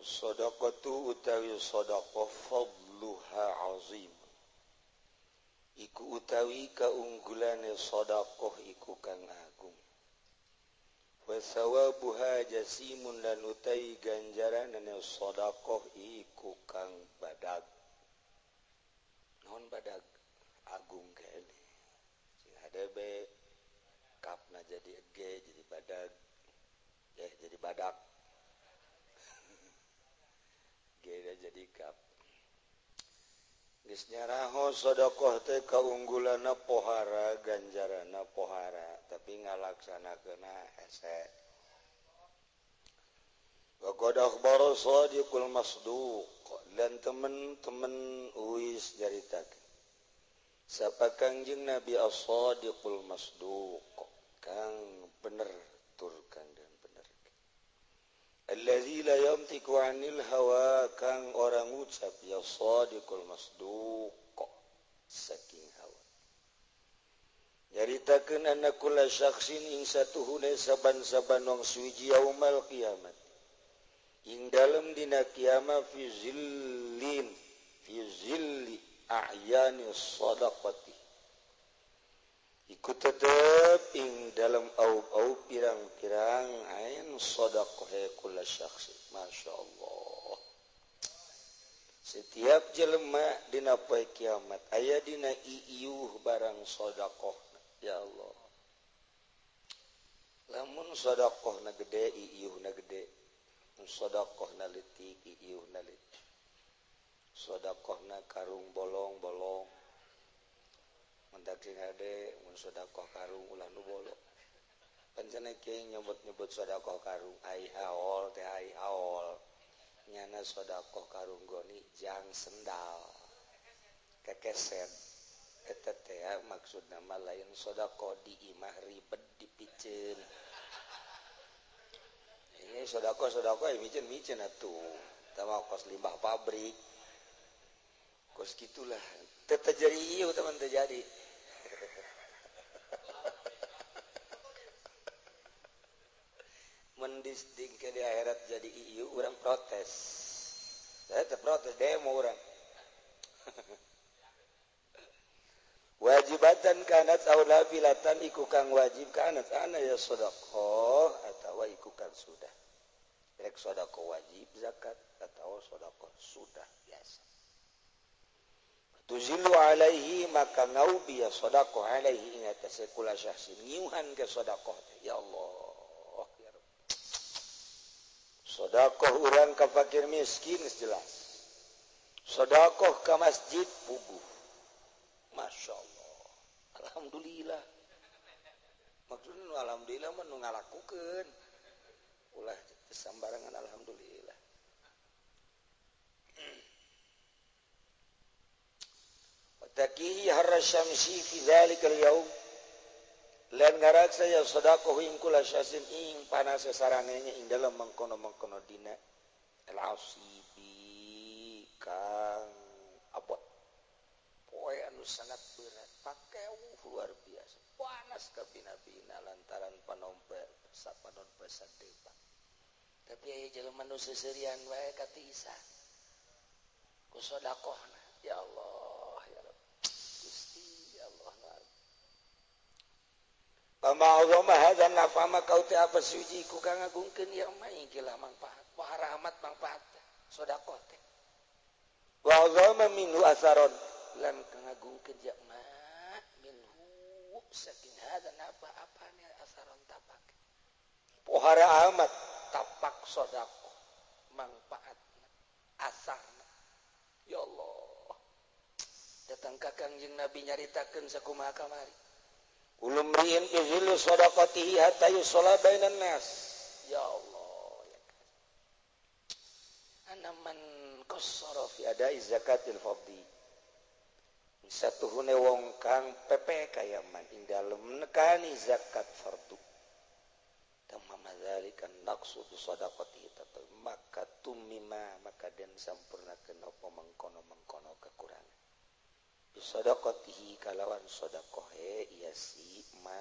Shadaqatu utawi shadaqah fadluha azim. Iku utawi kaunggulane shadaqah iku kang agung. Wa sawabuha jasimun lan utawi ganjaranane shadaqah iku kang badag. Naon badag? Agung kene. Sing hadebe kapna jadi ege jadi badag. Jadi badak. Gede jadi kap. Geus nyaraho sedekah teh kaunggulana pohara, ganjarana pohara, tapi ngalaksanakeunna hese. Wa qad akhbara shadiqul masduq lan temen-temen uis jaritakeun. Sapa Kangjeng Nabi as-Shadiqul Masduq, kang bener tur kang dan bener. Allazi la yamtiku 'anil hawa, kang orang ucap ya Shadiqul Masduq saking hawa. Nyaritakeun anna kulla syakhsin ing satuhune saban-saban wong suci yaumal kiamat. Ing dalem dina kiamat fi zilli a'yani shadaqati. Ikut tetap ing dalam au pirang-pirang ain shadaqah kulla syakhsin. Masyaallah. Setiap jelema dina poe kiamat aya dina iiuh barang shadaqah. Ya Allah. Lamun shadaqahna gede iiuhna gede. Shadaqahna leutik iiuhna leutik. Shadaqahna karung bolong-bolong. Mentak sing hade mun sedekah karung ulah nu bolong. Pancen kieu nyebut-nyebut sedekah karung ai haol teh ai haol. Nyana sedekah karung goni jang sendal. Kekeset. Eta teh maksudna mah lain sedekah di imah ribet dipiceun. Ini sedekah micen-micen atuh. Tama kos limbah pabrik. Kos gitulah. Teu terjadi ieu teman terjadi. Mendisting ke di akhirat jadi ieu urang protes. Saya teh protes demo urang. Wajibatan kanat aula filatan iku kang wajib kanat ana ya sedekah atawa iku kang sudah. Rek sedekah wajib zakat atawa sedekah sudah biasa. Tuzilu alaihi maka ngaubi ya sedekah alaihi ing atase kula syahsin ngiuhan ke sedekah ya Allah ya Rabb. Sedekah urang ka fakir miskin jelas. Sedekah ka masjid puguh. Masyaallah. Alhamdulillah. Maksudna alhamdulillah mah nu ngalakukeun. Ulah sambarangan alhamdulillah. Takihi harra syamsi fi dzalikal yaum lan ngaraksa ya sedekah ing kula syasin ing panas saranenya ing dalam mengkono-mengkono dina al-asibi kang abot poe anu sangat berat pakeu luar biasa panas ka bina-bina lantaran panompe sapanon pasadeba tapi aya jelema nu seuseurean wae katisan ku sedekahna ya Allah. Pama'udhama hadhan nafama kau te apa suci ku kang ngagungkeun ieu mah ingkilah manfaat wahara amat manfaat sedekah teh wa azama minhu asaron lan kang ngagungkeun ieu mah minhu saking hadhan apa apane asaron tapak wahara amat tapak sedekah manfaatna asarna ya Allah datang ka Kangjeng Nabi nyaritakeun sakumaha kamari ulum riin izillu sadaqatihi hatta yusalla bainan nas. Ya Allah ya kan. Ana man qassara fi ada'i zakatil fardhi. Satuhune wong kang pepe kaya man ing dalem nekani zakat fardu. Tamma dzalika naqsu sadaqatihi tatul maka tumima maka den sampurnakeun apa mengkono-mengkono kekurangan. Bisadaqatihi kalawan sedekah iya si man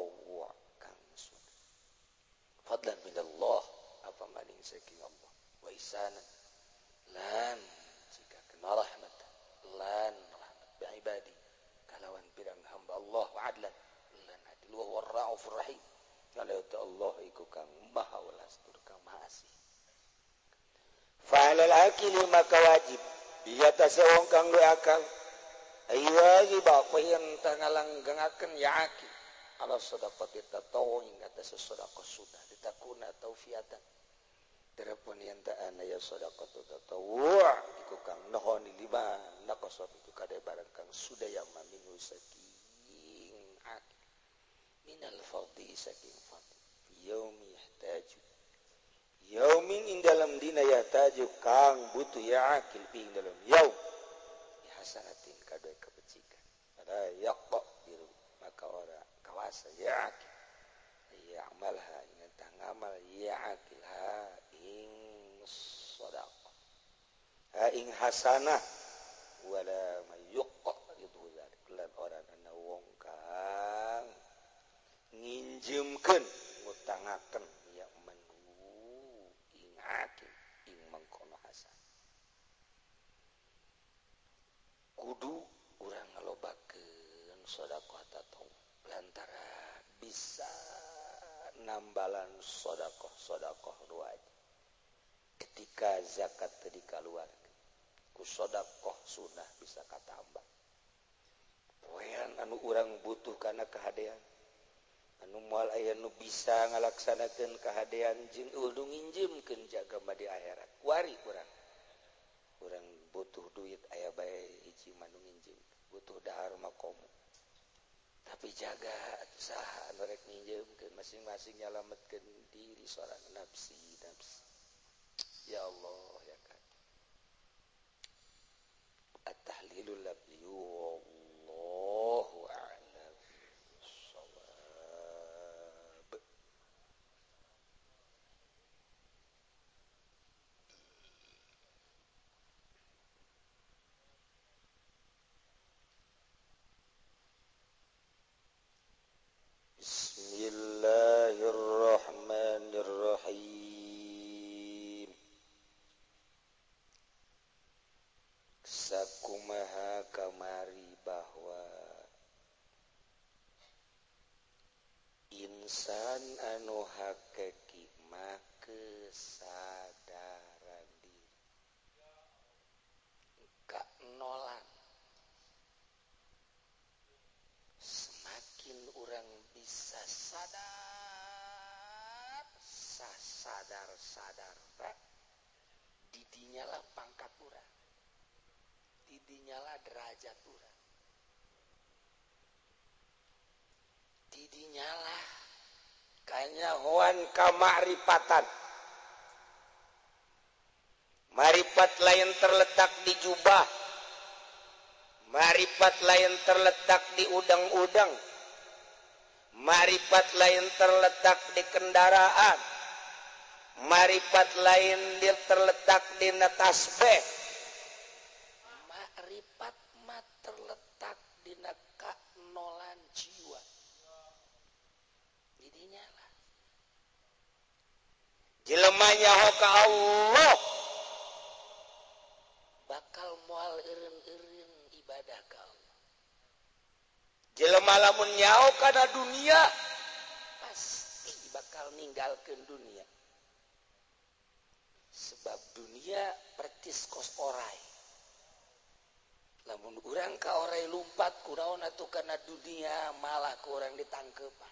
at-tatawwu kang sunnah fadlan minallah apa maning saking Allah wa ihsanan lan jika kena rahmat lan rahmat bi ibadi kalawan pirang hamba Allah wa adlan lan adil wa raufur rahim kalau Allah iku kang maha welas tur kang maha asih fa'alal akili maka wajib biya tasawong kang duwe akal ayo ba koyen tangalanggangaken ya akil ala sedekah tatawun ing atas sedekah sunnah ditakuna taufiatan terapun yang ta'ana ya sedekah tatawwu iku kang nohoni lima naqasab iku kade barang kang sudaya maminu saking akil minal fardhi saking fardhi yaumi yahtaju yaumin ing dalam dina yahtaju kang butuh ya akil ing dalam yaum hasanatin kadue kebajikan ada yaqqa biru maka ora kawasa ya akil ya amalha ing ngamal ya akil ha ing sedekah ha ing hasanah wala mayuqqa itu zalik lan ora ana wong kang nginjemkeun ngutangaken ya manu ing akil ing mangkono hasan kudu urang ngalobakeun sedekah tatawwu lantaran bisa nambalan sedekah wajib ketika zakat teu dikaluarkeun ku sedekah sunnah bisa katambah poean anu urang butuh kana kahadean anu moal aya nu bisa ngalaksanakeun kahadean jeung udu nginjemkeun jaga di akhirat wari urang butuh duit aya bae hiji manu nginjem butuh dahar makomo tapi jaga usaha anu rek nginjemkeun masing-masing nyalametkeun diri sorang nafsi ya Allah ya kan at-tahlilul labdi wallahu a'lam shawab Bismillahirrahmanirrahim. Sakumaha kamari bahwa insan anu hakiki mah kesadaran diri kanolan semakin orang bisa sadar didinyalah pangkat urang didinyalah derajat urang didinyalah kanyahoan kamaripatan marifat lain terletak di jubah marifat lain terletak di udang-udang marifat lain terletak di kendaraan marifat lain terletak di tasbih marifat mah terletak di kanolan jiwa jadinya lah jelema nyaho ka Allah bakal moal eureun-eureun ibadah ka Allah jelema lamun nyaho kana dunia pasti bakal ninggalkeun dunia sebab dunia pertis kos orai lamun urang ka orai lumpat kunaon atuh kana dunia malah ku urang ditangkeupan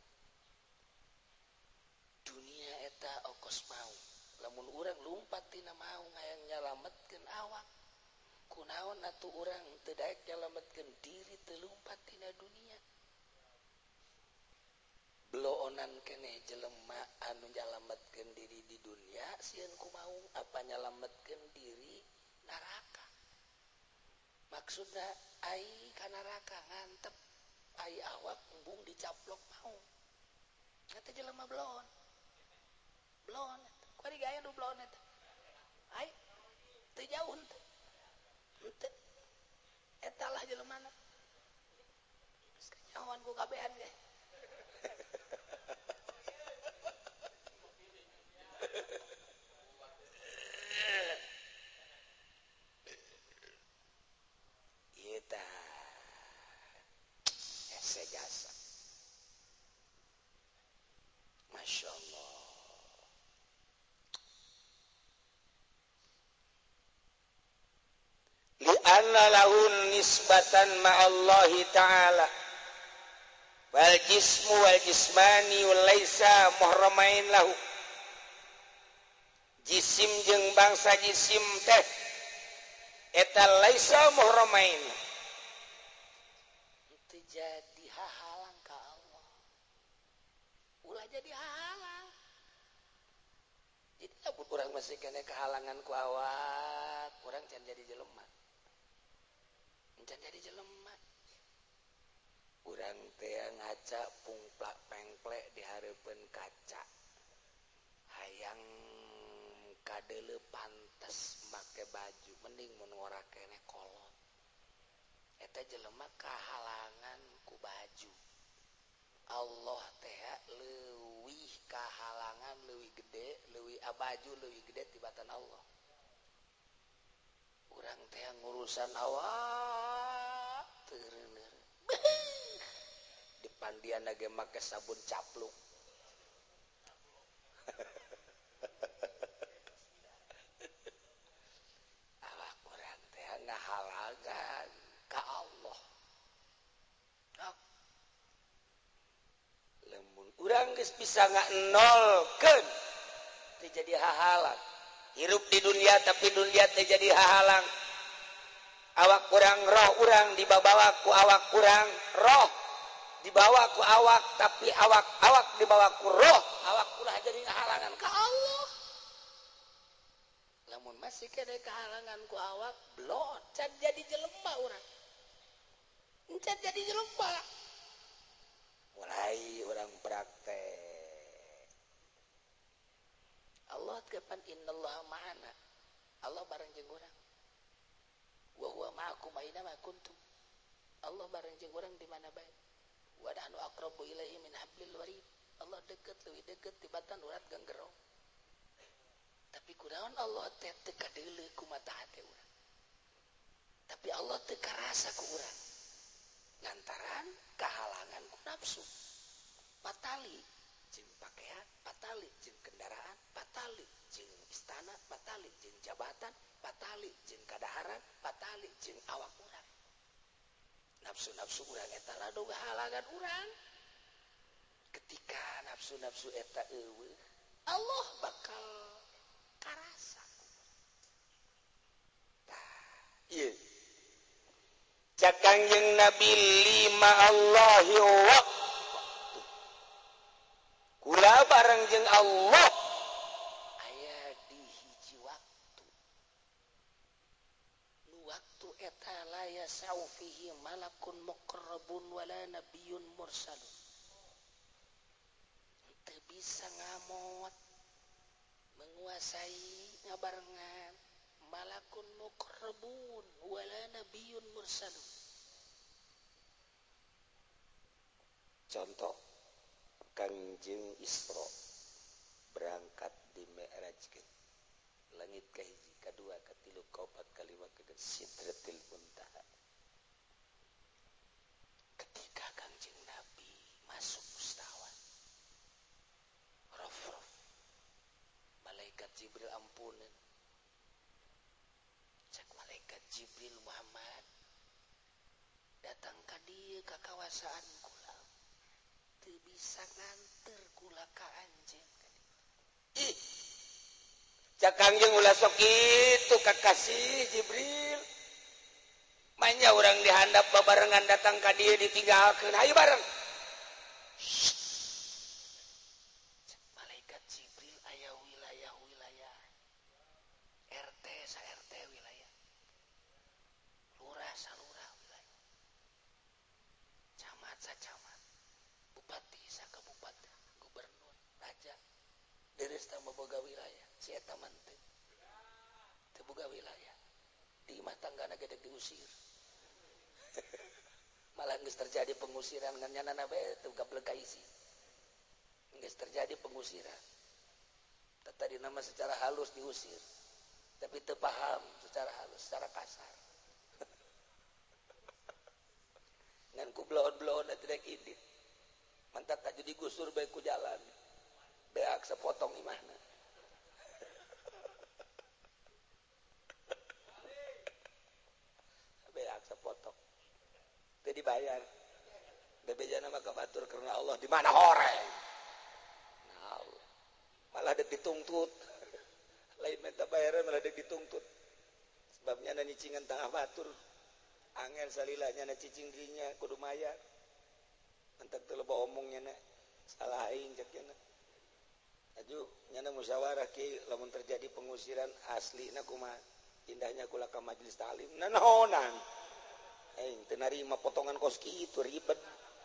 dunia eta okos mau lamun urang lumpat tina mau ngayang nyalametkeun awak kunaon atuh urang teu daek nyalametkeun diri teu lumpat tina dunia beloonan keneh jelema anu nyalametkeun diri di dunia sieun kumaha apa nyalametkeun diri neraka maksudna ai ka neraka ngantep ai awak embung dicaplok mau eta jelema belon kuari gaya nu belon eta ai teu jauh teh henteu eta lah jelemana geus kanyahoan ku kabehan ge lahun nisbatan ma'allahi ta'ala wal jismu wal jismani wal laisa muhramain lahu jisim jeung bangsa jisim teh eta laisa muhramain teu jadi hahalang ka Allah ulah jadi hahalang jadi lamun urang masih kena kehalangan ku awak urang can jadi jelema can jadi jelema urang teh ngaca pungplak pengplek di hareupeun kaca hayang kadeuleu pantes make baju mending mun ngora kene kolot eta jelema kahalangan ku baju Allah teh leuwih kahalangan leuwih gede leuwih baju leuwih gede tibatan Allah urang teh ngurusan awak teureuneur dipandiana ge make sabun capluk awak urang teh ngahalangan ka Allah lamun urang geus bisa nolkeun teu jadi hahalang hirup di dunia tapi dunia teh jadi hahalang awak kurang roh urang dibawa ku awak kurang roh dibawa ku awak tapi awak dibawa ku roh awak ulah jadi halangan ka Allah lamun masih kena kehalangan ku awak blot can jadi jelema urang can jadi jelema mulai urang praktek Allah kapan innallaha ma'ana Allah bareng jeung urang wa huwa ma'akum aina ma kuntum Allah bareng jeung urang di mana bae wa nahnu aqrabu ilaihi min hablil warid Allah deket leuwih deket tibatan urat ganggerong tapi kunaon Allah teh teu kadeuleu ku mata hate urang tapi Allah teu karasa ku urang lantaran kahalangan ku nafsu patali jeung pakaian patali jeung kendaraan patali jeung istana patali jeung jabatan patali jeung kadaharan patali jeung awak urang nafsu-nafsu urang eta ladoga halangan urang ketika nafsu-nafsu eta eueuh Allah bakal karasa ieu cak Kangjeng Nabi lima Allahi wa kula bareng jeung Allah aya di hiji waktu nu waktu eta la yasau fihi malakun muqarrabun wala nabiyyun mursalun teu bisa ngamot menguasai ngabarengan malakun muqarrabun wala nabiyyun mursalun contoh Kangjeng Isra berangkat di Mi'rajkeun langit kahiji kadua katilu kaopat kalima ke Sidratil Muntaha ketika Kangjeng Nabi masuk mustawan rof malaikat Jibril ampuneun cek malaikat Jibril Muhammad datang ka dieu ka kawasaan kula teu bisa nganter kula ka anjeun ih cak Kangjeng ulah sok kitu kakasih Jibril manya urang dihandap babarengan datang ka dieu ditinggalkeun hayu bareng malaikat Jibril aya wilayah RT sa RT wilayah lurah sa lurah wilayah camat sa camat bupati sa kabupaten gubernur raja deres tambah boga wilayah si eta mah teu boga wilayah di imah tanggana gedeg diusir malah geus terjadi pengusiran ngan nyanana bae teu gableg ka isi geus terjadi pengusiran tadi nama secara halus diusir tapi teu paham secara halus secara kasar ngan ku blon-blon tidak idit mantap tak jadi gusur bae ku jalan beak sepotong imahna bayar bebejana mah kabatur karena Allah di mana horeng nah malah dek dituntut lain minta bayaran malah dek dituntut sebabnya na nyicingan tengah batur angel salilanya na cicing dirinya kudu mayar entek teu loba omongnya na salah aing cek nya aju nyana musyawarah ki lamun terjadi pengusiran aslina kumaha indahnya kula ka majelis taklim nanaonan aing teu narima potongan kos kitu ribet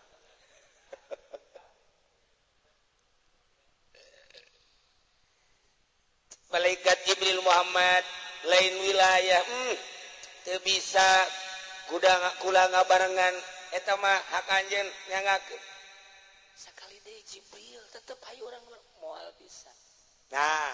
malaikat Jibril Muhammad lain wilayah teu bisa kula ngabarengan eta mah hak anjeun nyangakeun sakali deui Jibril tetep hayu urang moal bisa nah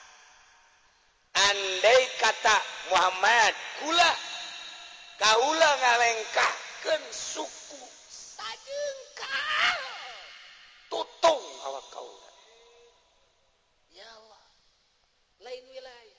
andai kata Muhammad kula kaula ngalengkahkeun suku sajengkal tutung awak kaula ya Allah lain wilayah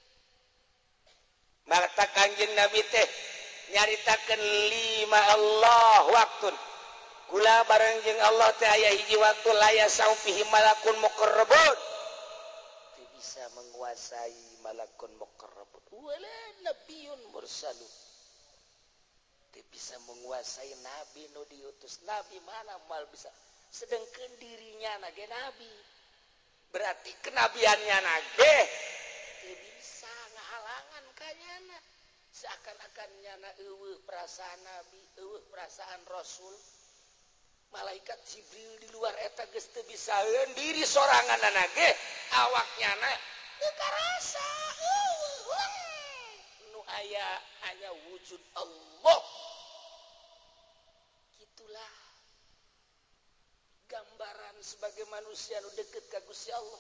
mata kanjeng Nabi teh nyaritakeun 5 Allah waktun kula bareng jeung Allah teh aya hiji waktu laya saufihi malakun muqarrabun teu bisa menguasai malakun muqarrabun wala nabiyyun mursalun teu bisa menguasai nabi nu diutus nabi mana moal bisa sedengkeun dirinya na ge nabi berarti kenabiannya na ge teu bisa ngahalangan ka nyana seakan-akan nyana eueuh perasaan nabi eueuh perasaan rasul malaikat Jibril di luar eta geus teu bisaeun diri soranganna ge awaknya na teu karasa nu aya hanya wujud Allah gitulah gambaran sebagai manusia nu deukeut ka Gusti Allah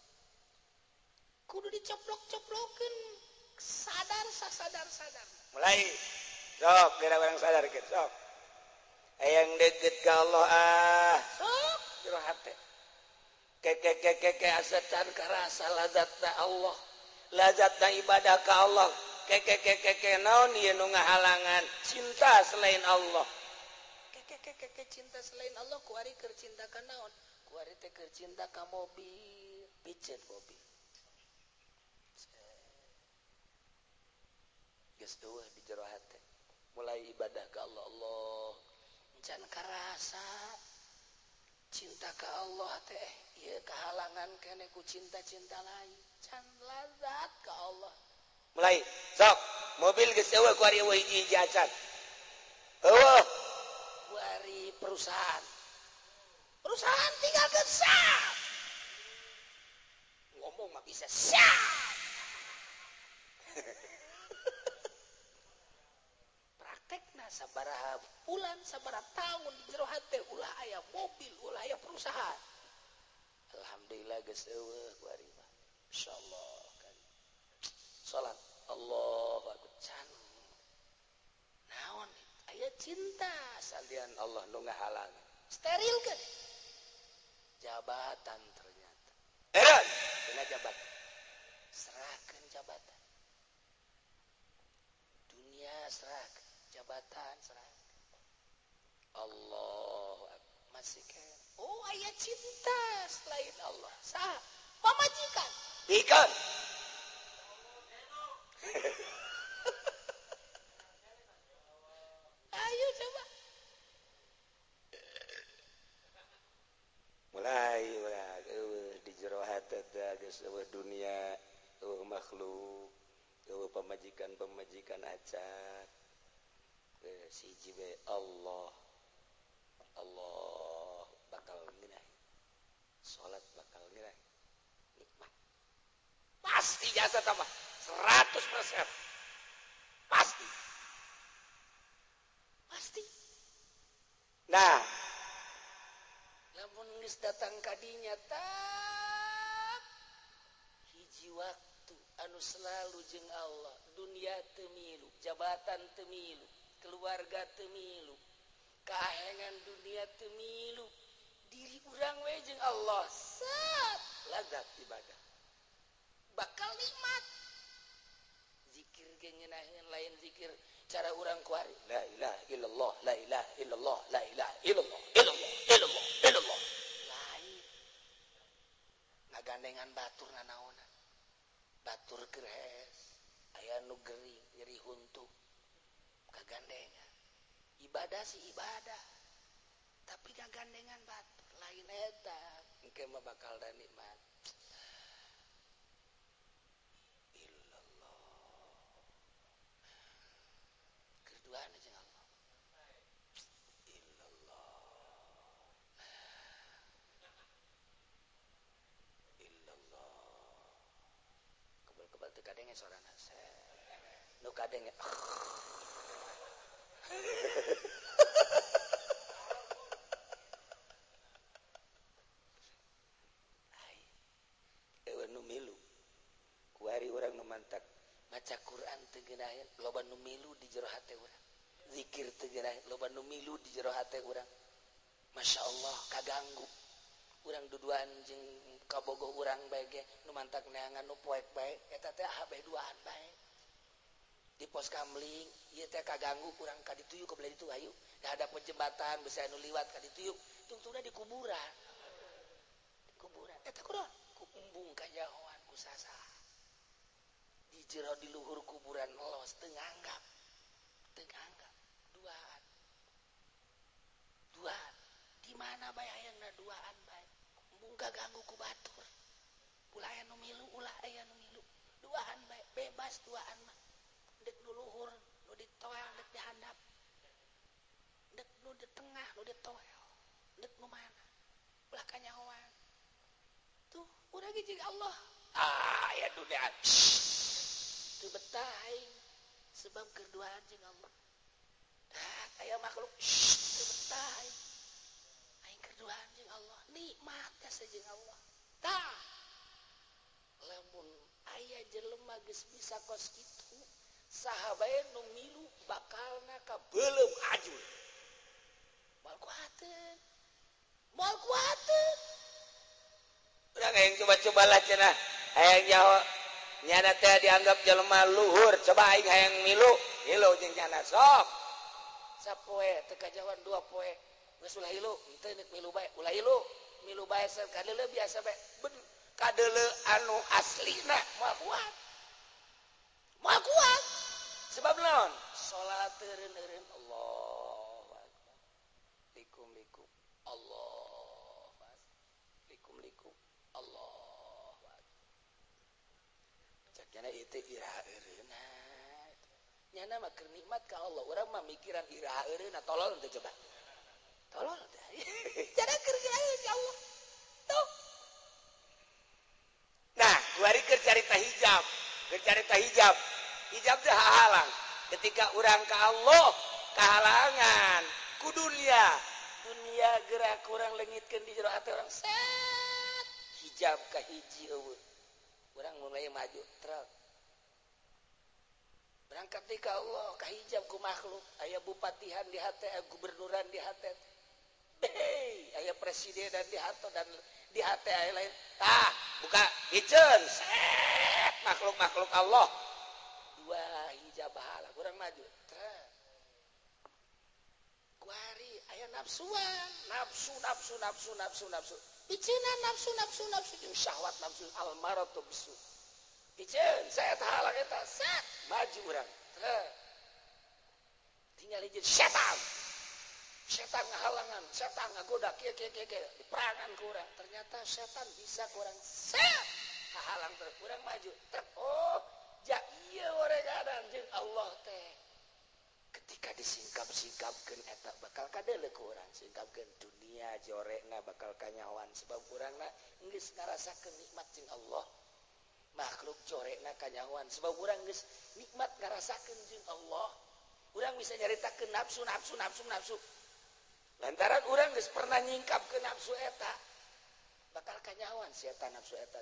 kudu dicoplok-coplokeun sadar mulai sok geura barang sadar geus sok hayang deukeut ka Allah sok jero hate ke asa can karasa lazatna Allah lazatna ibadah ka Allah ke naon ieu nu ngahalangan cinta selain Allah ke cinta selain Allah kuari keur cinta ka naon kuari teh keur cinta ka mobil piceun mobil geus eueuh di jero hate mulai ibadah ka Allah Allah can karasa cinta ka Allah teh ieu kahalangan keneh ku cinta-cinta lain can lazat ka Allah mulai sok mobil geus eueuh ku ari eueuh hiji acan eueuh ku ari perusahaan tinggal geus sah ngomong mah bisa sah praktekna sabaraha bulan sabaraha tahun di jero hate ulah aya mobil ulah aya perusahaan alhamdulillah geus eueuh ku ari mah insyaallah kan salat Allahu akbar can naon aya cinta salian Allah nu ngahalang steril kan jabatan ternyata dina jabatan serahkeun jabatan dunia serahkeun jabatan serahkeun Allah masih kan oh aya cinta selain Allah saha pamajikan ikan ayo coba mulai di jero hate geus eueuh dunia eueuh makhluk eueuh pamajikan acan siji we Allah bakal ngeunaheun salat bakal ngeunaheun nikmat pasti jasa tambah 100% pasti nah lamun geus datang kadinya tak hiji waktu anu selalu jeung Allah dunia teu milu jabatan teu milu keluarga teu milu kahengan dunia teu milu diri urang we jeung Allah set lazat ibadah bakal nikmat zikir ge ngeunaheun lain zikir cara urang kuari la ilaha illallah la ilaha illallah la ilaha illallah illallah illallah illallah lain ngagandengan batur nanaona batur geres aya nu gering nyeri huntu kagandengan ibadah sih ibadah tapi ngagandengan batur lain eta engke mah bakal da nikmat keduaan aja Allah illallah illallah kebal-kebal teu kadenge sorana nu kadenge nu milu kuari urang nu mantak maca Quran teu geunaheun loba nu milu di jero hate urang zikir teu geunaheun loba nu milu di jero hate urang masyaallah kaganggu urang duduan jeung kabogoh urang bae ge nu mantak neangan nu poek bae eta teh habeh duaan bae di pos kamling ieu teh kaganggu urang ka ditu yuk ka belah ditu ayo da hadap jembatan bisa anu liwat ka ditu yuk tungtungna di kuburan eta kunaon ku embung kajahoan ku sasaha di jero di luhur kuburan los teu nganggap duaan di mana bae hayangna duaan bae embung kaganggu ku batur ulah aya nu milu ulah aya nu milu duaan bae bebas duaan mah dek nu luhur nu ditoel dek di handap dek nu di tengah nu ditoel dek nu mana ulah kanyahoan tuh urang ge jeung Allah ya dunia teu betah aing sebab kerduaan jeung Allah aya makhluk teu betah aing kerduaan jeung Allah nikmat teh jeung Allah tah lamun aya jelema geus bisa kos kitu saha bae nu milu bakalna ka beulem ajul moal kuateun urang hayang coba-coba lah cenah hayang nyaho nyana teh dianggap jelema luhur coba aing hayang milu jeung nyana sok sapoe teu kajawan 2 poe geus ulah hilu henteu neuk milu bae ulah hilu milu bae sakadele biasa bae kadele anu aslina moal kuat sebab naon salat eureun Allahu akbar likum Allah likum Allah cakna itu iraha eureuna nyana mah keur nikmat ka Allah urang mah mikiran iraha eureuna tolol teu coba tolol teh cara keur iraha ka Allah tuh nah kuari keur carita hijab hijab teh hahalang ketika urang ka Allah kahalangan ku dunia gerak urang leungitkeun di jero hati urang set hijab ka hiji eueuh urang mulai maju truk berangkat di ka Allah ka hijab ku makhluk aya bupatihan di hate aya gubernuran di hate aya presidenan di hate dan di hate aya lain tah buka hiceun set makhluk Allah dua hijab bahala urang maju truk kuari aya nafsuan nafsu biceuna nafsu jeung syahwat nafsu almaratu bisu biceun saya tahalang eta set maju urang tinggal hiji setan ngahalangan setan ngagoda kieu diperangan ku urang ternyata setan bisa ku urang set hahalang terus urang maju oh ja ieu oreganan jeung Allah teh ketika disingkap-singkapkeun eta bakal kadeuleu ku urang singkapkeun dunia jorekna bakal kanyawan sebab urangna geus ngarasakeun nikmat jeung Allah makhluk corekna kanyawan sebab urang geus nikmat ngarasakeun jeung Allah urang bisa nyaritakeun nafsu lantaran urang geus pernah nyingkapkeun nafsu eta bakal kanyawan setan nafsu eta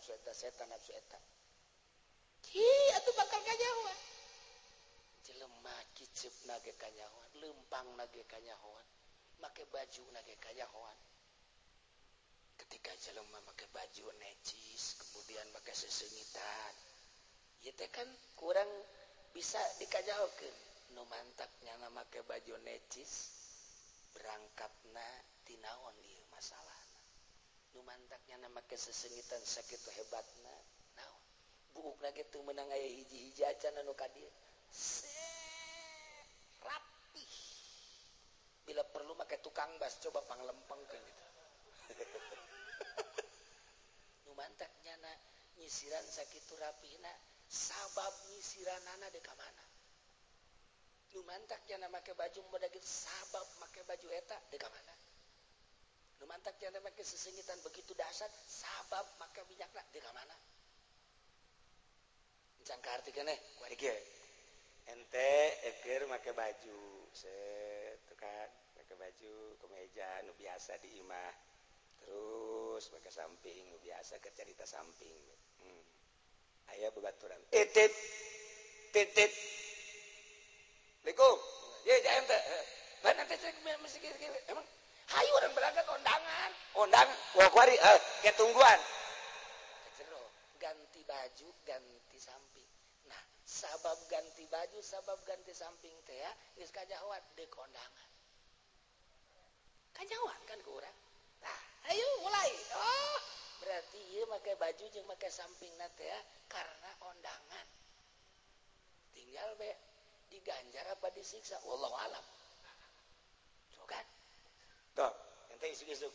atuh bakal kanyawan jelema kicupna ge kanyawan leumpangna ge kanyawan make bajuna ge kanyawan ketika jelema make baju necis kemudian pakai sesengitan ieu teh kan kurang bisa dikajahokeun nu mantapnya nama ke baju necis berangkatna tinaon ieu masalahna nu mantaknya nama ke sesengitan sakitu hebatna naon buukna ge teu meunang aya hiji-hiji acan anu ka dieu rapi bila perlu make tukang bas coba panglempengkeun gitu nu mantaknya na nyisiran sakitu rapina sabab nyisiranana dek ka mana nu mantaknya na make baju moda gitu sabab make baju eta dek ka mana nu mantaknya na make sesengitan begitu dahsyat sabab make minyakna dek ka mana encan kaartikeun kuari kieu ente eukeur make baju set kan make baju kemeja nu biasa di imah terus make samping nu biasa keur carita samping aya babaturan titit titit Assalamualaikum ye jaem teh mana teh mesti kieu emang hayu urang berangkat ondangan wah kuari ke tungguan jero ganti baju ganti samping nah sabab ganti baju sabab ganti samping teh ya geus kajahoan deuk kondangan kajahoan kan ku urang nah ayo mulai berarti ieu make baju jeung make sampingna teh ya karena kondangan tinggal be diganjar apa disiksa wallahu alam so kan tuh ente isuk-isuk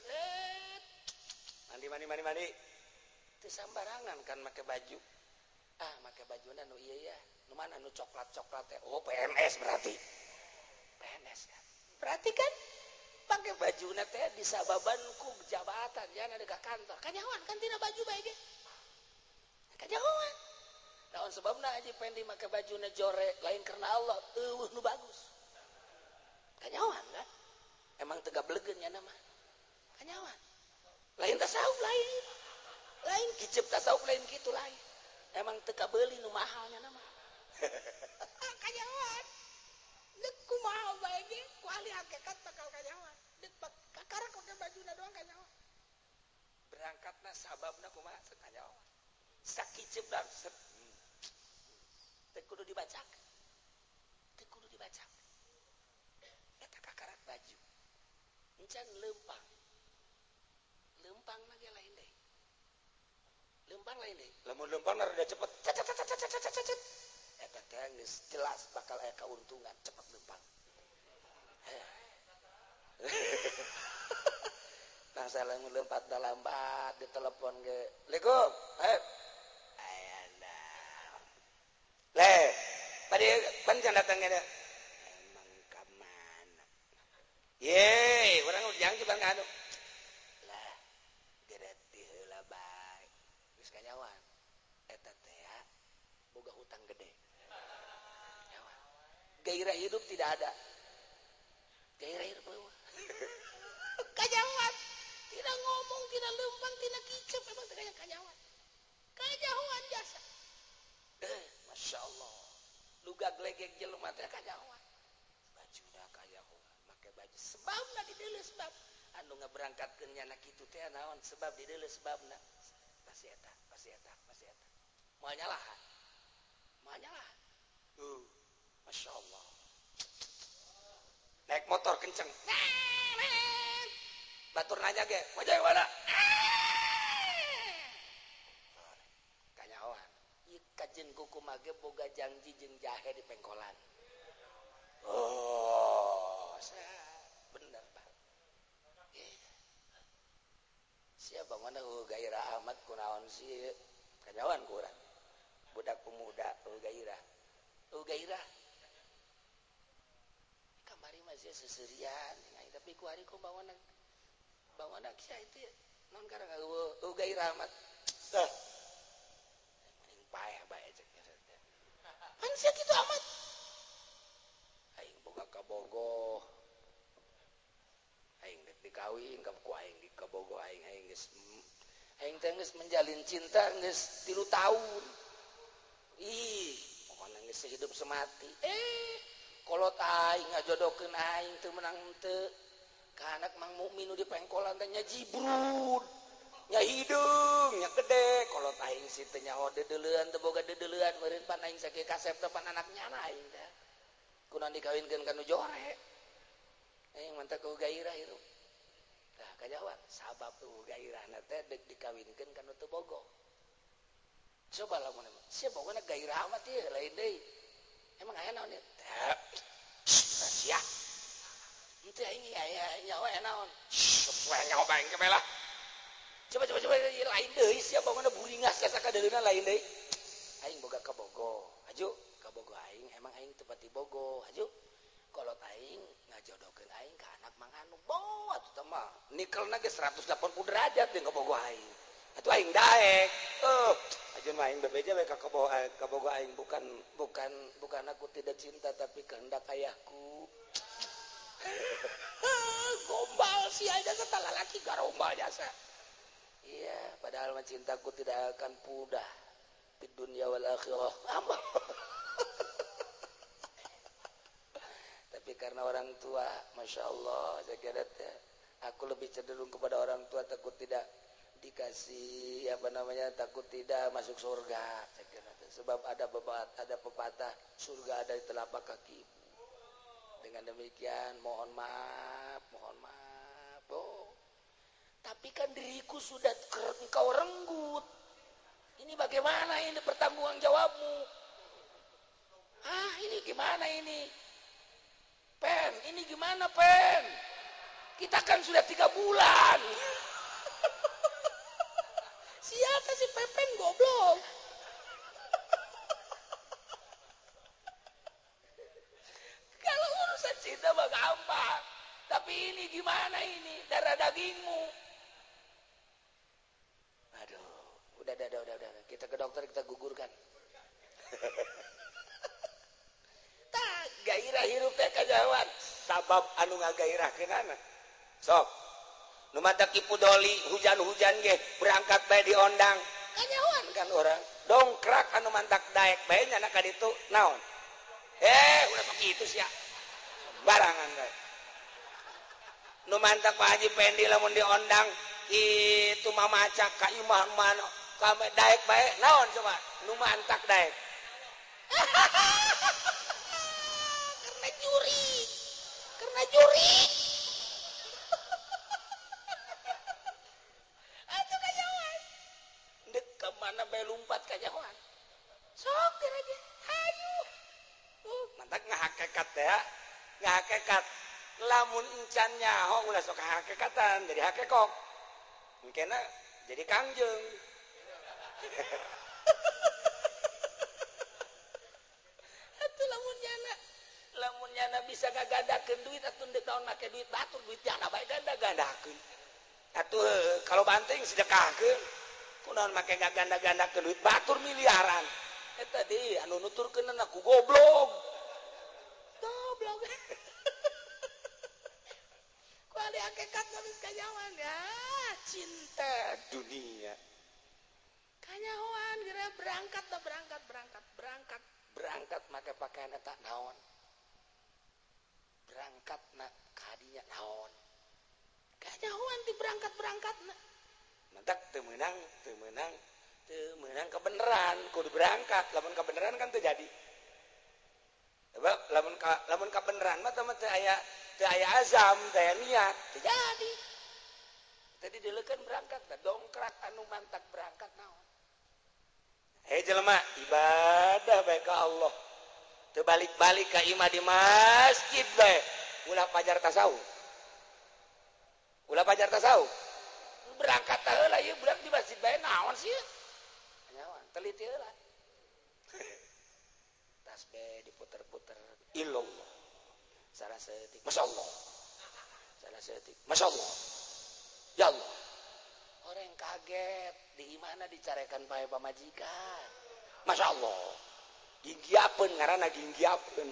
mandi teu sambarangan kan make baju make bajuna nu ieu ya nu mana nu coklat-coklat teh oh PNS berarti PNS kan berarti kan pakai bajuna teh disababan ku jabatan ya na dekat kantor kanyawan kan tina baju bae ge kanyawan naon sebabna Haji Pendi make bajuna jore lain karena Allah nu bagus kanyawan kan emang teu gablegeun nya nama kanyawan lain tasawuf lain kicep tasawuf lain kitu lain emang teu kabeuli nu mahalnya nama kanyawan deuk kumaha bae ge ku ahli hakikat bakal kanyawan deuk kakarak make bajuna doang kanyawan berangkatna sababna kumaha kanyawan sakicep dan teu kudu dibacakeun eta kakarak baju encan leumpang lage lain deui leumpang lain deui lamun leumpang rada cepet eta teh geus jelas bakal aya kauntungan cepet leumpang nah salamun leumpang da lambat ditelepon ge Assalamualaikum le padi panjang datangnya dah emang kamana ye urang ujang cibang anu lah gereti heula bae geus kanyawan eta teh boga hutang gede kanyawan gairah hidup tidak ada gairah hidup eueuh kanyawan tidak ngomong tidak leumpang tidak kicep emang teh kanyawan kanyawan jasa Masya Allah luga glegek jelema teh kanyawan bajuna kanyawan make baju sebabna dideuleu sebab anu ngaberangkatkeun nya na kitu teh naon sebab dideuleu sebabna pasti eta moal nyalahan Masya Allah naik motor kenceng batur nanya ge wajah mana kanyawan kajen kuku mage boga janji jeung jahe di pengkolan bener Pak siapa mana gairah amat kunaon sih kanyawan kurang budak pemuda gairah kamari masih seserian tapi ku hari ku bawa nak sia itu non karang gairah amat payah bae cek manusia gitu amat aing boga kabogoh aing dek dikawin ka ku aing di kabogoh aing teh geus menjalin cinta geus 3 tahun pokona geus hidup semati kolot aing ngajodokeun aing teu menang teu ka anak Mang Mukmin nu di pengkolan teh nya jibrud nya hidung nya gede kolot aing si teh nyaho dedeleuan teu boga dedeleuan meureun pan aing sakieu kasep depan anaknya aing teh kunaon dikawinkeun ka nu jore mantap ku gairah itu tah kajawan sabab tuh gairahna teh deuk dikawinkeun ka nu teu bogo coba lamun sia pokona gairah mah teh lain deui emang aya naon teh sia henteu aing aya nyawa naon poe nyawa baeng ke belah coba lain deui sia pokona buringas ka sakadeuna lain deui aing boga ka bogo aju ka bogo aing emang aing teu pati bogo aju kolot aing ngajodokeun aing ka anak Mang Anu boh atuh teh mah nikelna ge 180 derajat deung ka bogo aing atuh aing daek ajun mah aing bebeja we ka bogo aing bukan aku tidak cinta tapi kehendak ayahku gombal si aja kata lalaki garombal jasa iya padahal mah cintaku tidak akan pudar di dunia wal akhirah tapi karena orang tua masya Allah saya kira aku lebih cenderung kepada orang tua takut tidak dikasih takut tidak masuk surga saya kira sebab ada pepatah surga ada di telapak kaki ibu dengan demikian mohon maaf tapi kan diriku sudah engkau renggut ini bagaimana ini pertanggungan jawabmu ini gimana ini Pen ini gimana Pen kita kan sudah 3 bulan siapa si Pepen goblok kalau urusan cinta mah gampang tapi ini gimana ini darah dagingmu aduh udah kita ke dokter kita gugurkan tak gairah hirup teh kajawan sabab anu ngagairahkeunana sok nu mata kipu doli hujan-hujan ge berangkat bae diondang kanyawan kan orang dongkrak anu mantak daek bae nyana ka ditu naon udah begitu sia barangan bae nu mantak Pak Haji Pendi lamun diondang itu mah macak ka imah mana ka daek bae naon coba nu mantak daek karena juri atuh kajawan dek kemana bae lumpat kajawan sok aja hayu mantak ngahakekat ya ngahakekat lamun encan nyaho ulah sok hakekatan jadi hakekok mungkin jadi kangjeng atuh lamun nyana bisa ngagandakeun duit atuh teu taon make duit batur duit nyana bae ganda-gandakeun atuh kalau banting sedekahkeun kunaon make ngaganda-gandakeun duit batur miliaran eta deui anu nuturkeun aku goblok kuali hakikat geus kajawan ya cinta dunia kanyahoan geura berangkat make pakaian eta naon berangkatna kadinya naon kanyahoan ti berangkatna mantak teu meunang kebenaran kudu berangkat lamun kebenaran kan teu jadi sebab lamun kebenaran mah teu aya azam teu aya niat teu jadi tadi dileukeun berangkat dongkrak anu mantak berangkat naon jelema ibadah bae ka Allah teu balik-balik ka imah di masjid bae ulah pajar tasawuf berangkat heula ieu budak di masjid bae naon sih naon teliti heula tasbih diputer-puter illallah salah setik masyaallah ya Allah orang kaget di mana dicarekan pae pamajikan masyaallah ginggiapeun ngaranna ginggiapeun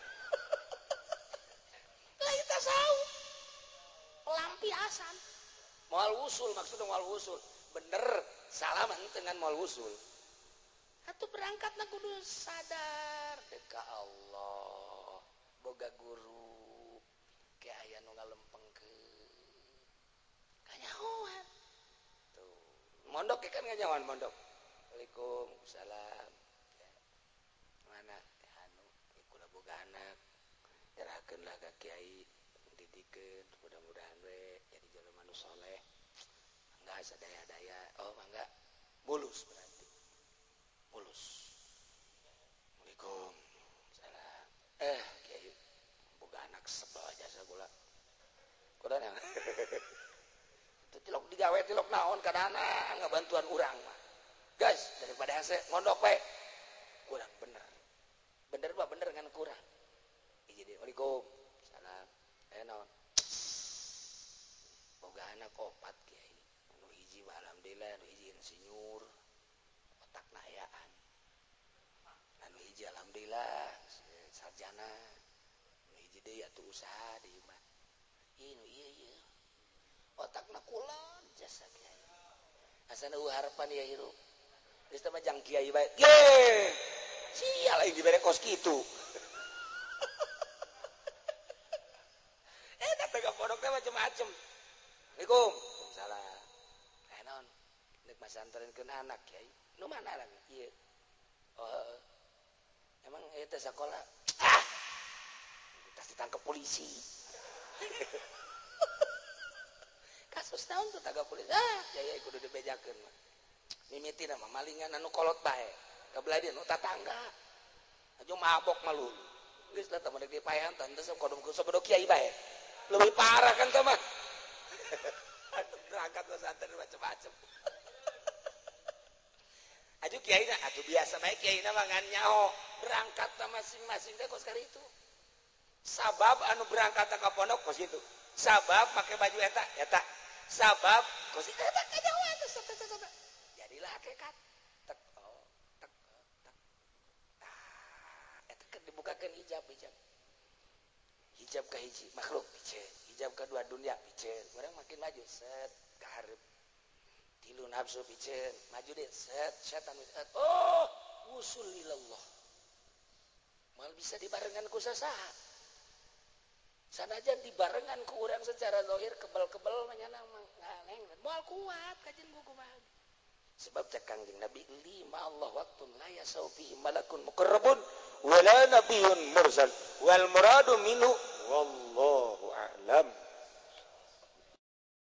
lain tasawuf pelampiasan moal wusul maksudnya moal wusul bener salah mah dengan moal wusul atuh berangkatna kudu sadar deka Allah boga guru ke aya nu ngalempengkeun kanyahoan tuh mondok kan kanyahoan mondok Waalaikumsalam ya. Mana anu kula boga anak nyerahkeunlah ka kiai didikeun mudah-mudahan we jadi jelema nu saleh enggak sadaya-daya mangga mulus berarti mulus. Assalamualaikum salam kiai boga anak sebel jasa gula kodana itu tilok digawe tilok naon kadana ngabantuan urang mah guys daripada hese ngondok we kurang bener mah bener ngan kurang jadi Assalamualaikum salam naon boga anak opat kiai anu hiji mah alhamdulillah anu hiji insinyur otakna hayaan anu hiji alhamdulillah sarjana anu hiji deui atuh usaha di imah ieu otakna kulon jasa kiai asana harapan ya hirup geus teh mah jang kiai bae ge sia lain dibere kos kitu tega pondok teh macam-macam. Assalamualaikum. Waalaikumsalam. Naon? Nek masantrenkeun anak kiai. Nu mana anak? Ieu. Oh. Emang teh sakola. Tas ditangkap polisi. Kasus naon tuh tangkap polisi? Kiai kudu dibejakeun mah. Mimitina mah malingan anu kolot bae. Kabeladi anu tatangga. Ajo mabok malu. Geus lah teh di paehan teh teu kodom ku sabodo kiai bae. Lebih parah kan sama berangkat ke pesantren macam-macam aju kiai na atuh biasa bae kiai na mangan nyaho berangkat ta masing-masing teh kos kali itu sabab anu berangkat ka pondok kos itu sabab pakai baju eta sabab kos itu eta kajawa teh jadilah hakikat tek eta keur dibukakeun hijab ka hiji makhluk piceun hijab kedua dunia piceun urang makin maju set ka hareup tilu nafsu piceun maju deh set setan wusul ilallah mal bisa dibarengan ku sasaha sanajan dibarengan ku urang secara zahir kebal-kebal manyana ngaleng moal kuat kajen kumaha sebab cek Kangjeng Nabi lima Allah waktun la yasau fihi malakun muqarrabun wala nabiyyun mursal wal muradu minhu wallahu